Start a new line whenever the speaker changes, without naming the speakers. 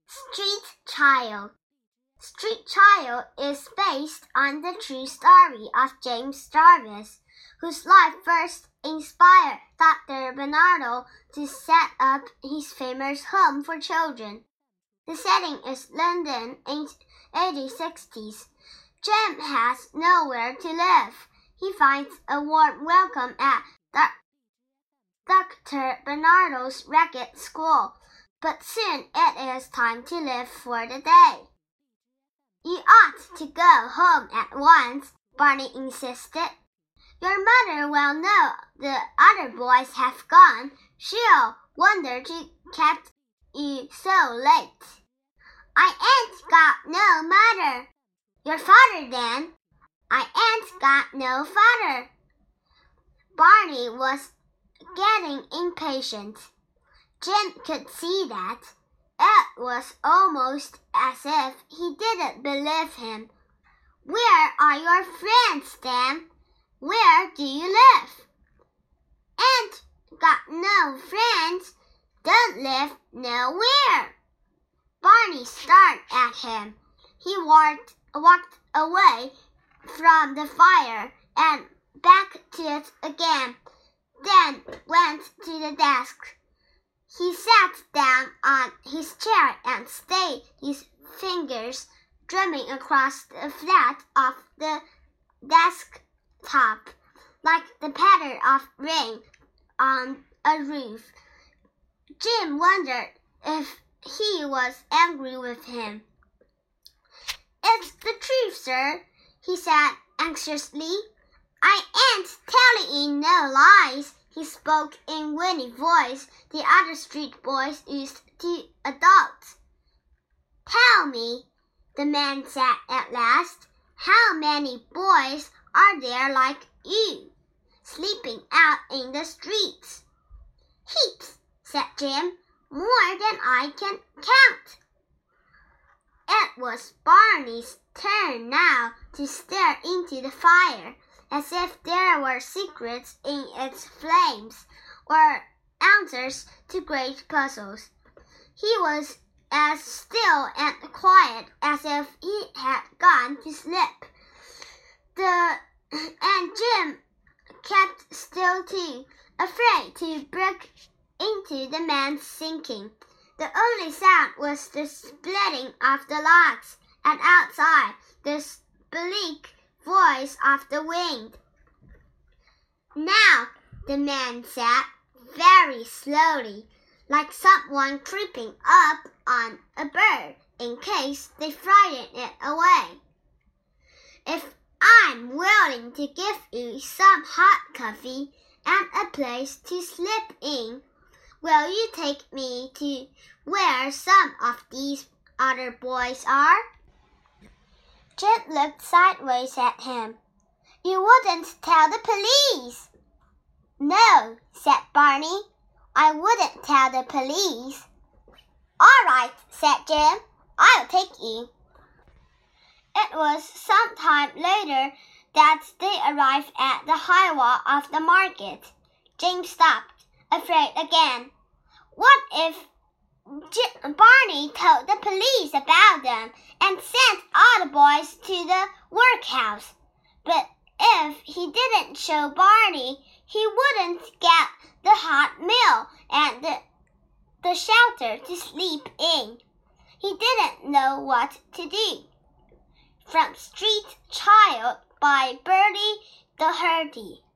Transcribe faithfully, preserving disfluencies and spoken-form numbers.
Street Child. Street Child is based on the true story of James Jarvis, whose life first inspired Doctor Barnardo to set up his famous home for children. The setting is London in eighteen sixties. Jim has nowhere to live. He finds a warm welcome at Doctor Barnardo's ragged school, but soon it is time to leave for the day. You ought to go home at once, Barney insisted. Your mother will know the other boys have gone. She'll wonder to kept you so late. I ain't got no mother. Your father then. I ain't got no father. Barney was getting impatient. Jim could see that. It was almost as if he didn't believe him. Where are your friends, then? Where do you live? Ain't got no friends. Don't live nowhere. Barney stared at him. He walked, walked away from the fire and back to it again, then went to the desk. He sat down on his chair and stayed his fingers drumming across the flat of the desktop, like the patter of rain on a roof. Jim wondered if he was angry with him. It's the truth, sir, he said anxiously. I ain't telling you no lies. He spoke in winning voice the other street boys used to adopt. Tell me, the man said at last, how many boys are there like you, sleeping out in the streets? Heaps, said Jim, more than I can count. It was Barney's turn now to stare into the fire, as if there were secrets in its flames, or answers to great puzzles. He was as still and quiet as if he had gone to sleep. The and Jim kept still too, afraid to break into the man's thinking. The only sound was the splitting of the logs, and outside the bleak voice of the wind. Now, the man said, very slowly, like someone creeping up on a bird in case they frighten it away. If I'm willing to give you some hot coffee and a place to sleep in, will you take me to where some of these other boys are? Jim looked sideways at him. You wouldn't tell the police. No, said Barney. I wouldn't tell the police. All right, said Jim. I'll take you. It was some time later that they arrived at the high wall of the market. Jim stopped, afraid again. What if Jim, Barney told the police about them and sent all the boys to the workhouse? But if he didn't show Barney, he wouldn't get the hot meal and the, the shelter to sleep in. He didn't know what to do. From Street Child by Bertie Doherty.